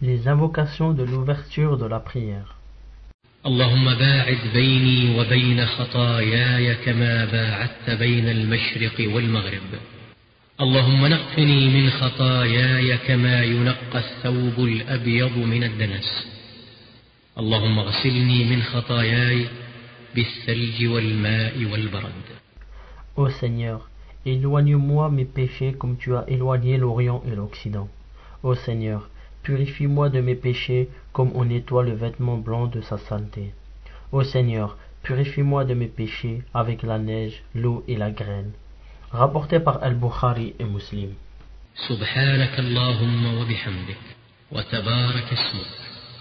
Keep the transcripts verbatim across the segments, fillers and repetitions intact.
Les invocations de l'ouverture de la prière. اللهم باعد بيني وبين خطاياي كما باعدت بين المشرق والمغرب. اللهم نقني من خطاياي كما ينقى الثوب الأبيض من الدنس. اللهم اغسلني من خطاياي بالثلج والماء والبرد. Ô Seigneur, éloigne-moi mes péchés comme tu as éloigné l'Orient et l'Occident. Ô Seigneur, purifie-moi de mes péchés comme on nettoie le vêtement blanc de sa saleté. Ô Seigneur, purifie-moi de mes péchés avec la neige, l'eau et la graine. Rapporté par Al-Bukhari et Muslim. سبحانك اللهم وبحمدك وتبارك اسمك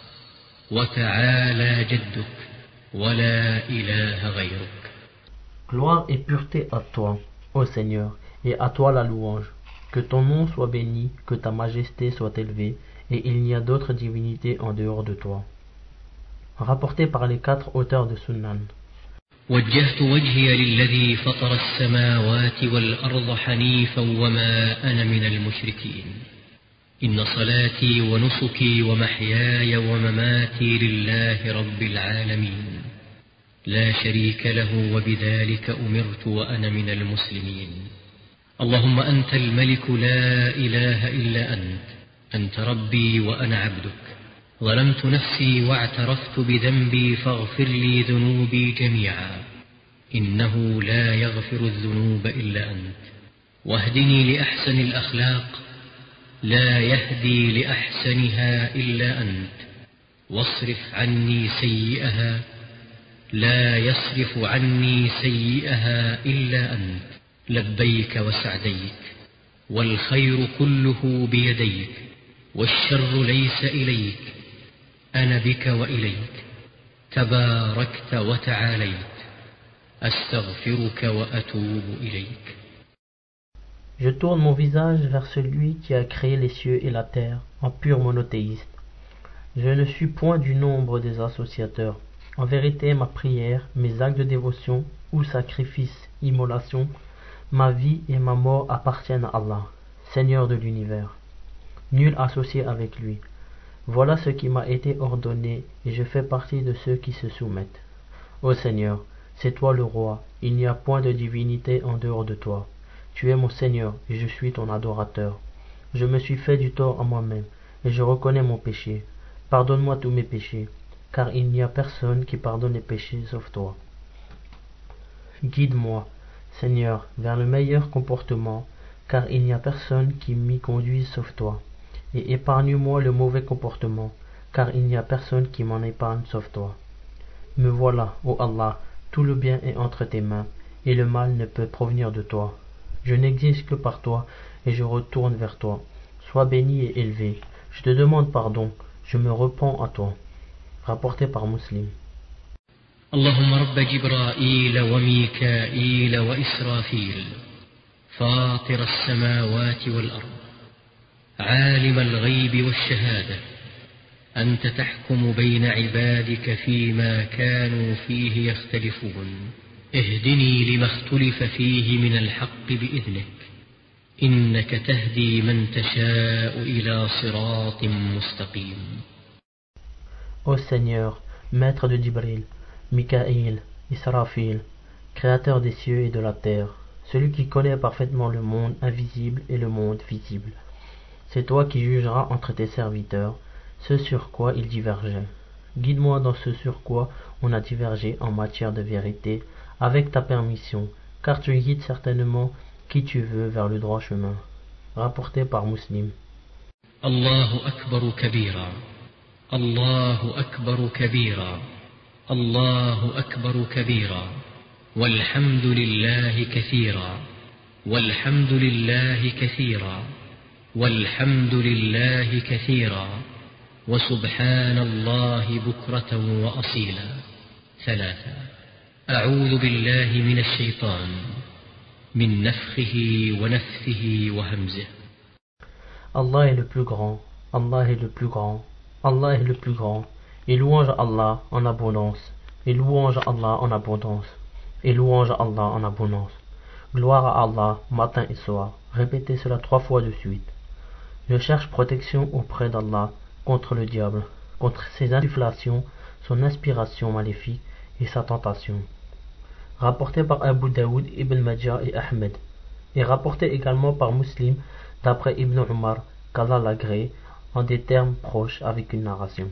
وتعالى جدك ولا إله غيرك. Gloire et pureté à toi, ô Seigneur, et à toi la louange. Que ton nom soit béni, que ta majesté soit élevée, et il n'y a d'autre divinité en dehors de toi. Rapporté par les quatre auteurs de Sunan. وجهت وجهي للذي فطر السماوات والأرض حنيفا وما أنا من المشركين. إن صلاتي ونسكي ومحياي ومماتي لله رب العالمين لا شريك له وبذلك أمرت وأنا من المسلمين. اللهم أنت الملك لا إله إلا أنت أنت ربي وأنا عبدك ظلمت نفسي واعترفت بذنبي فاغفر لي ذنوبي جميعا إنه لا يغفر الذنوب إلا أنت واهدني لأحسن الأخلاق لا يهدي لأحسنها إلا أنت واصرف عني سيئها لا يصرف عني سيئها إلا أنت لبيك وسعديك والخير كله بيديك والشر ليس إليك أنا بك وإليك تباركت وتعاليت أستغفرك وأتوب إليك. Je tourne mon visage vers celui qui a créé les cieux et la terre en pur monothéiste. Je ne suis point du nombre des associateurs. En vérité, ma prière, mes actes de dévotion ou sacrifices, immolations, ma vie et ma mort appartiennent à Allah, Seigneur de l'univers. Nul associé avec lui. Voilà ce qui m'a été ordonné et je fais partie de ceux qui se soumettent. Ô Seigneur, c'est toi le roi, il n'y a point de divinité en dehors de toi. Tu es mon Seigneur et je suis ton adorateur. Je me suis fait du tort à moi-même et je reconnais mon péché. Pardonne-moi tous mes péchés, car il n'y a personne qui pardonne les péchés sauf toi. Guide-moi, Seigneur, vers le meilleur comportement, car il n'y a personne qui m'y conduise sauf toi. Et épargne-moi le mauvais comportement, car il n'y a personne qui m'en épargne sauf toi. Me voilà, ô Allah, tout le bien est entre tes mains, et le mal ne peut provenir de toi. Je n'existe que par toi, et je retourne vers toi. Sois béni et élevé. Je te demande pardon, je me repens à toi. Rapporté par Muslim. اللهم رب جبرائيل وميكائيل وإسرافيل فاطر السماوات والأرض عالم الغيب والشهادة أنت تحكم بين عبادك فيما كانوا فيه يختلفون اهدني لما اختلف فيه من الحق بإذنك إنك تهدي من تشاء إلى صراط مستقيم. Ô Seigneur, maître de Djibril, Mikaïl, Israfil, créateur des cieux et de la terre, celui qui connaît parfaitement le monde invisible et le monde visible. C'est toi qui jugeras entre tes serviteurs ce sur quoi ils divergeaient. Guide-moi dans ce sur quoi on a divergé en matière de vérité, avec ta permission, car tu guides certainement qui tu veux vers le droit chemin. Rapporté par Muslim. Allahu akbar kabira, Allahu akbar kabira, Allahu akbar kabira, walhamdulillahi kathira, walhamdulillahi kathira, walhamdulillahi kathira, wa subhanallahi bukratan wa asila. ثلاثة. أعوذ بالله من الشيطان من نفخه ونفثه وهمزه. Allah est le plus grand, Allah est le plus grand, Allah est le plus grand, et louange à Allah en abondance, et louange à Allah en abondance, et louange à Allah en abondance. Gloire à Allah matin et soir. Répétez cela trois fois de suite. Je cherche protection auprès d'Allah contre le diable, contre ses insufflations, son inspiration maléfique et sa tentation. Rapporté par Abu Daoud, Ibn Majah et Ahmed, et rapporté également par Muslim d'après Ibn Umar, qu'Allah l'agrée, en des termes proches avec une narration.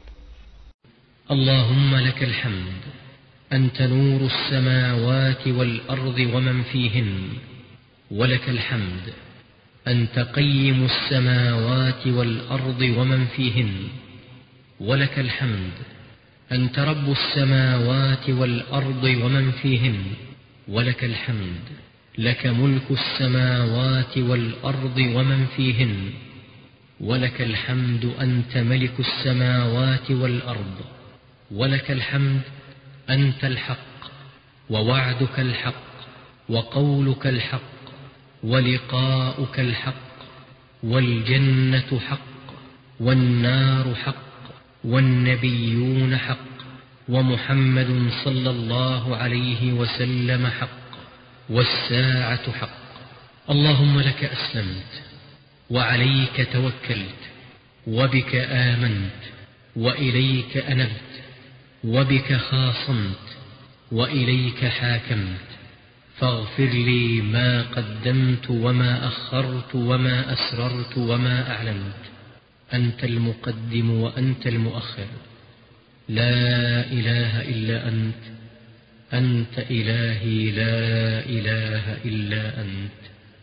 اللهم لك الحمد أنت نور السماوات والأرض ومن فيهن ولك الحمد أنت قيم السماوات والأرض ومن فيهن ولك الحمد أنت رب السماوات والأرض ومن فيهن ولك الحمد لك ملك السماوات والأرض ومن فيهن ولك الحمد أنت ملك السماوات والأرض ولك الحمد أنت الحق ووعدك الحق وقولك الحق ولقاؤك الحق والجنة حق والنار حق والنبيون حق ومحمد صلى الله عليه وسلم حق والساعة حق. اللهم لك أسلمت وعليك توكلت وبك آمنت وإليك أنبت وبك خاصمت وإليك حاكمت فاغفر لي ما قدمت وما أخرت وما أسررت وما أعلنت أنت المقدم وأنت المؤخر لا إله إلا أنت أنت إلهي لا إله إلا أنت.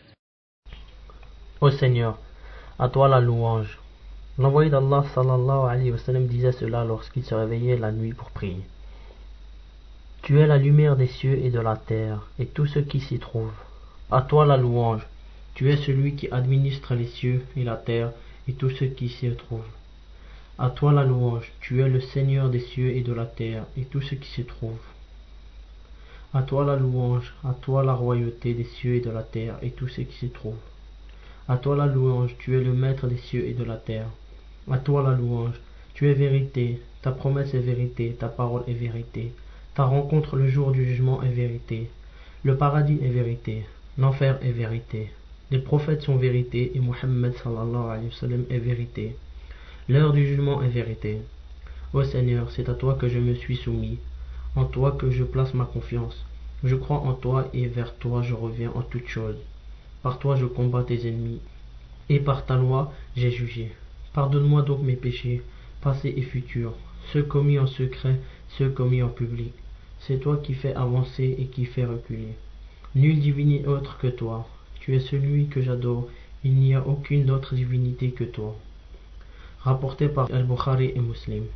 Ô Seigneur, à toi la louange. L'envoyé d'Allah sallallahu alayhi wa sallam disait cela lorsqu'il se réveillait la nuit pour prier. Tu es la lumière des cieux et de la terre, et tout ce qui s'y trouve. À toi la louange. Tu es celui qui administre les cieux et la terre, et tout ce qui s'y trouve. À toi la louange. Tu es le Seigneur des cieux et de la terre, et tout ce qui s'y trouve. À toi la louange. À toi la royauté des cieux et de la terre, et tout ce qui s'y trouve. À toi la louange. Tu es le maître des cieux et de la terre. À toi la louange. Tu es vérité. Ta promesse est vérité. Ta parole est vérité. Ta rencontre le jour du jugement est vérité. Le paradis est vérité. L'enfer est vérité. Les prophètes sont vérité et Muhammad sallallahu alayhi wa sallam est vérité. L'heure du jugement est vérité. Ô Seigneur, c'est à toi que je me suis soumis, en toi que je place ma confiance. Je crois en toi et vers toi je reviens en toutes choses. Par toi je combats tes ennemis, et par ta loi j'ai jugé. Pardonne-moi donc mes péchés, passés et futurs, ceux commis en secret, ceux commis en public. C'est toi qui fais avancer et qui fais reculer. Nul divinité autre que toi. Tu es celui que j'adore. Il n'y a aucune autre divinité que toi. Rapporté par Al-Bukhari et Muslim.